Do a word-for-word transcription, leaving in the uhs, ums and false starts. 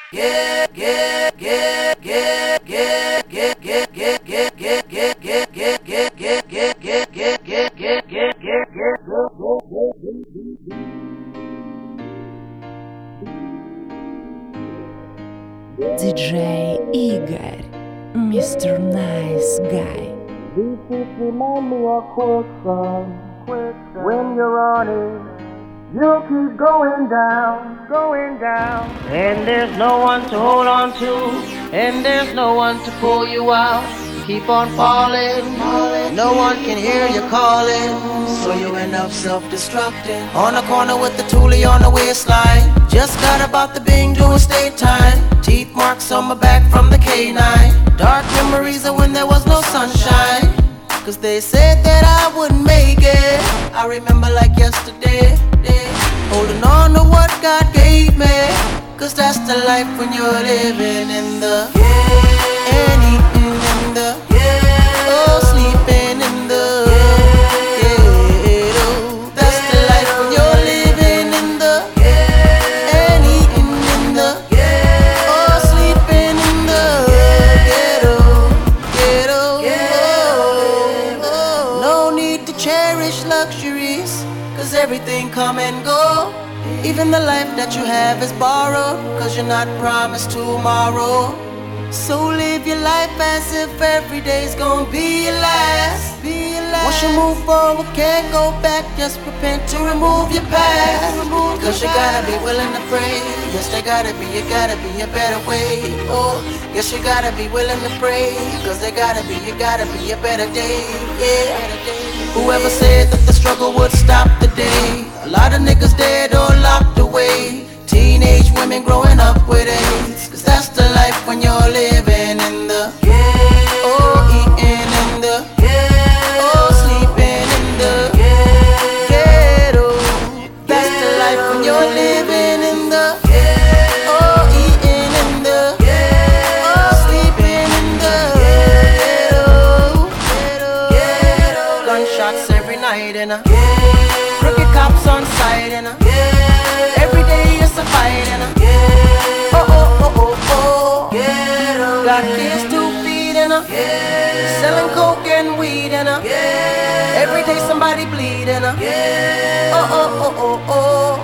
диджей Игорь, мистер Nice Guy. These beats remind me of quicksand. When you're on it, you'll keep going down, going down. And there's no one to hold on to, and there's no one to pull you out. Keep on falling, no one can hear you calling, so you end up self-destructing. On the corner with the toolie on the waistline, just got about the Bing doing state time. Teeth marks on my back from the K nine. Dark memories of when there was no sunshine, cause they said that I wouldn't make it. I remember like yesterday, holding on to what God gave me, cause that's the life when you're living in the and eating in the oh, sleeping in the ghetto. That's the life when you're living in the and eating in the oh, sleeping in the ghetto, ghetto. Oh, no need to cherish luxuries, cause everything come and go. Even the life that you have is borrowed, cause you're not promised tomorrow. So live your life as if every day's gonna be your last, be your last. Once you move forward, can't go back, just repent to remove your past. Cause you gotta be willing to pray. Yes, there gotta be, you gotta be a better way. Oh, yes, you gotta be willing to pray, cause there gotta be, you gotta be a better day. Yeah. Whoever said that the struggle would stop the day, a lot of niggas dead or locked away. Teenage women growing up with AIDS, cause that's the life when you're living in the oh, eating in the oh, sleeping in the ghetto. That's the life when you're living in the oh, eating in the oh, sleeping in the ghetto. Gunshots every night and a crooked cops on sight and a every day it's a fight and a oh oh oh oh oh. Got kids to feed and a selling coke and weed and a every day somebody bleed and a oh oh oh oh oh.